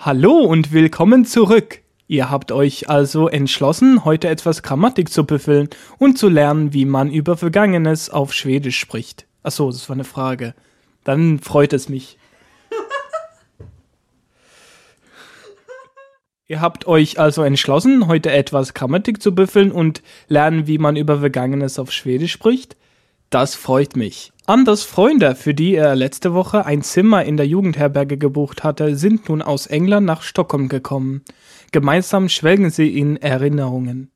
Hallo und willkommen zurück. Ihr habt euch also entschlossen, heute etwas Grammatik zu büffeln und zu lernen, wie man über Vergangenes auf Schwedisch spricht. Achso, das war eine Frage. Dann freut es mich. Ihr habt euch also entschlossen, heute etwas Grammatik zu büffeln und lernen, wie man über Vergangenes auf Schwedisch spricht? Das freut mich. Anders Freunde, für die er letzte Woche ein Zimmer in der Jugendherberge gebucht hatte, sind nun aus England nach Stockholm gekommen. Gemeinsam schwelgen sie in Erinnerungen.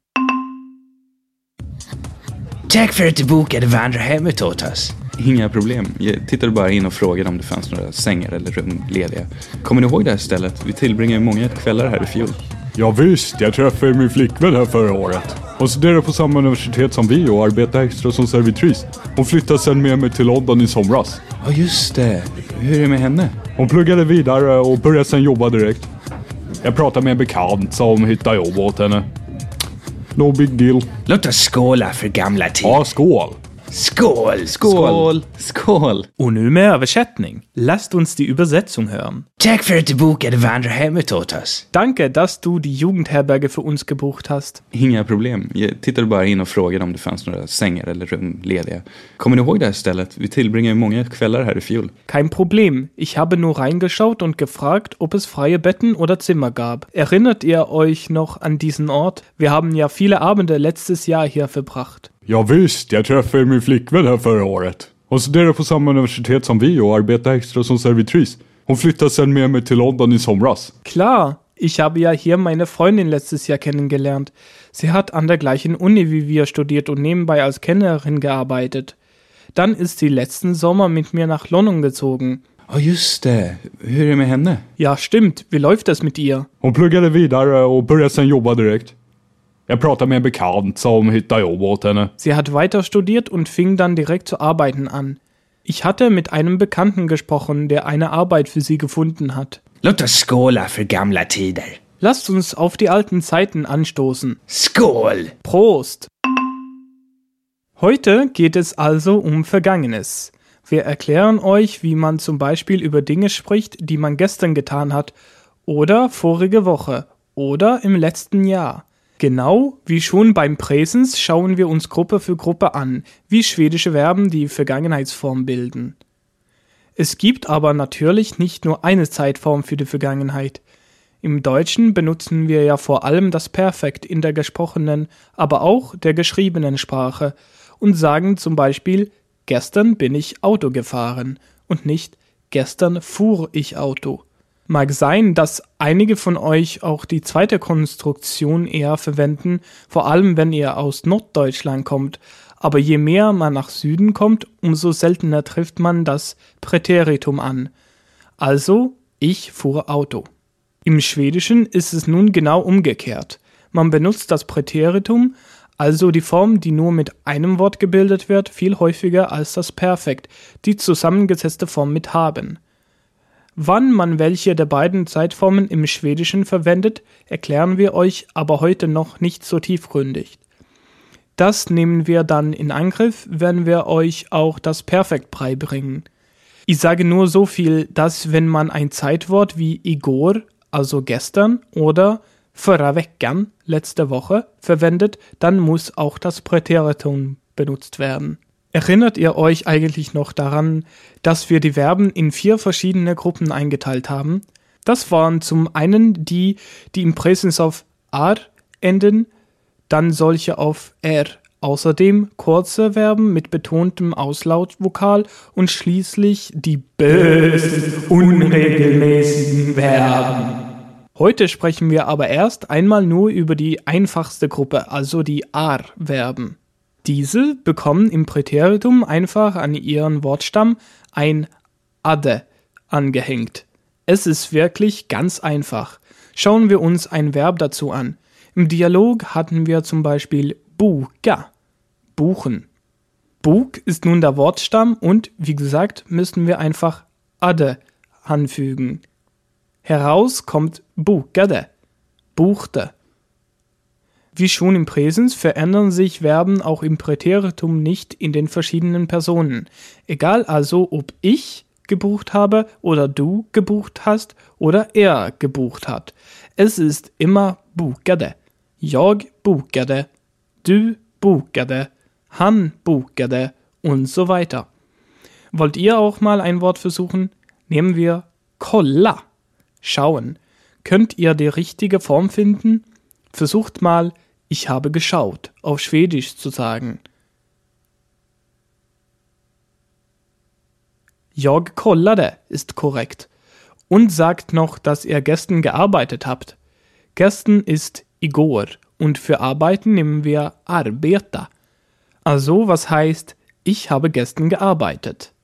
Tack för att du bokade vandrarhemmet åt oss. Inga problem. Jag tittade bara in och frågade om det fanns några sängar eller rum lediga. Kommer ni ihåg det här stället? Vi tillbringade många kvällar här i fjol. Ja visst, jag träffade min flickvän här förra året. Hon studerade på samma universitet som vi och arbetade extra som servitris. Hon flyttade sen med mig till London i somras. Ja just det. Hur är det med henne? Hon pluggade vidare och började sen jobba direkt. Jag pratade med en bekant som hittade jobb åt henne. No big deal. Låt oss skåla för gamla tid. Ja, skål! Skål! Skål! Skål! Und nun mehr Übersetzung. Lasst uns die Übersetzung hören. Tack för att du bokade vandrarhemmet åt oss. Danke, dass du die Jugendherberge für uns gebucht hast. Inga problem. Jag tittade bara in och frågade om det fanns några sängar eller rum lediga. Kommer ni ihåg det här stället? Vi tillbringade många kvällar här i fjol. Kein Problem. Ich habe nur reingeschaut und gefragt, ob es freie Betten oder Zimmer gab. Erinnert ihr euch noch an diesen Ort? Wir haben ja viele Abende letztes Jahr hier verbracht. Ja visst, jag träffade min flickvän här förra året. Hon studerade på samma universitet som vi och arbetade extra som servitris. Hon flyttade sen med mig till London i somras. Klar, ich habe ja hier meine Freundin letztes Jahr kennengelernt. Sie hat an der gleichen Uni wie wir studiert und nebenbei als Kellnerin gearbeitet. Dann ist sie letzten Sommer mit mir nach London gezogen. Ja just det. Hur är det med henne? Ja, stimmt. Wie läuft es mit ihr? Hon pluggade vidare och började sen jobba direkt. Jag pratade med en bekant som hittade jobb åt henne. Sie hat weiter studiert und fing dann direkt zu arbeiten an. Ich hatte mit einem Bekannten gesprochen, der eine Arbeit für sie gefunden hat. Låt oss skåla för gamla tider. Lasst uns auf die alten Zeiten anstoßen. Skål! Prost! Heute geht es also um Vergangenes. Wir erklären euch, wie man zum Beispiel über Dinge spricht, die man gestern getan hat oder vorige Woche oder im letzten Jahr. Genau wie schon beim Präsens schauen wir uns Gruppe für Gruppe an, wie schwedische Verben die Vergangenheitsform bilden. Es gibt aber natürlich nicht nur eine Zeitform für die Vergangenheit. Im Deutschen benutzen wir ja vor allem das Perfekt in der gesprochenen, aber auch der geschriebenen Sprache und sagen zum Beispiel, gestern bin ich Auto gefahren und nicht gestern fuhr ich Auto. Mag sein, dass einige von euch auch die zweite Konstruktion eher verwenden, vor allem wenn ihr aus Norddeutschland kommt, aber je mehr man nach Süden kommt, umso seltener trifft man das Präteritum an. Also, ich fuhr Auto. Im Schwedischen ist es nun genau umgekehrt. Man benutzt das Präteritum, also die Form, die nur mit einem Wort gebildet wird, viel häufiger als das Perfekt, die zusammengesetzte Form mit haben. Wann man welche der beiden Zeitformen im Schwedischen verwendet, erklären wir euch aber heute noch nicht so tiefgründig. Das nehmen wir dann in Angriff, wenn wir euch auch das Perfekt beibringen. Ich sage nur so viel, dass wenn man ein Zeitwort wie igår, also gestern, oder förra veckan, letzte Woche, verwendet, dann muss auch das Präteritum benutzt werden. Erinnert ihr euch eigentlich noch daran, dass wir die Verben in 4 verschiedene Gruppen eingeteilt haben? Das waren zum einen die im Präsens auf ar enden, dann solche auf r, außerdem kurze Verben mit betontem Auslautvokal und schließlich die bösen, unregelmäßigen Verben. Heute sprechen wir aber erst einmal nur über die einfachste Gruppe, also die ar-Verben. Diese bekommen im Präteritum einfach an ihren Wortstamm ein ade angehängt. Es ist wirklich ganz einfach. Schauen wir uns ein Verb dazu an. Im Dialog hatten wir zum Beispiel boka, buchen. Bok ist nun der Wortstamm und, wie gesagt, müssen wir einfach ade anfügen. Heraus kommt bokade, buchte. Wie schon im Präsens verändern sich Verben auch im Präteritum nicht in den verschiedenen Personen. Egal also, ob ich gebucht habe oder du gebucht hast oder er gebucht hat. Es ist immer bokade. Jag bokade, du bokade, han bokade und so weiter. Wollt ihr auch mal ein Wort versuchen? Nehmen wir kolla, schauen. Könnt ihr die richtige Form finden? Versucht mal, ich habe geschaut, auf Schwedisch zu sagen. Jag kollade ist korrekt. Und sagt noch, dass ihr gestern gearbeitet habt. Gestern ist igår und für arbeiten nehmen wir arbeta. Also was heißt, ich habe gestern gearbeitet.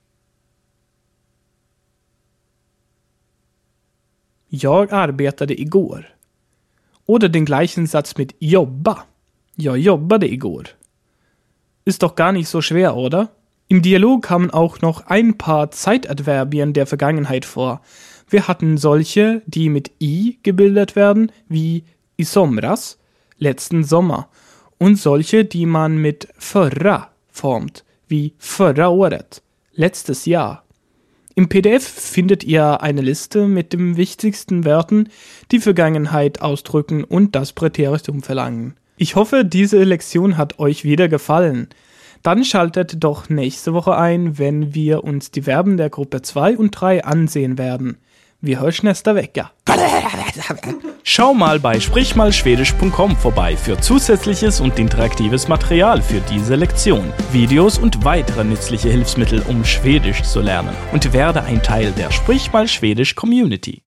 Jag arbetade igår. Oder den gleichen Satz mit jobba. Jag jobbade igår. Ist doch gar nicht so schwer, oder? Im Dialog kamen auch noch ein paar Zeitadverbien der Vergangenheit vor. Wir hatten solche, die mit i gebildet werden, wie i somras, letzten Sommer, und solche, die man mit förra formt, wie förra året, letztes Jahr. Im PDF findet ihr eine Liste mit den wichtigsten Wörtern, die Vergangenheit ausdrücken und das Präteritum verlangen. Ich hoffe, diese Lektion hat euch wieder gefallen. Dann schaltet doch nächste Woche ein, wenn wir uns die Verben der Gruppe 2 und 3 ansehen werden. Wir hören nästa vecka. Schau mal bei sprichmalschwedisch.com vorbei für zusätzliches und interaktives Material für diese Lektion, Videos und weitere nützliche Hilfsmittel, um Schwedisch zu lernen, und werde ein Teil der Sprich mal Schwedisch Community.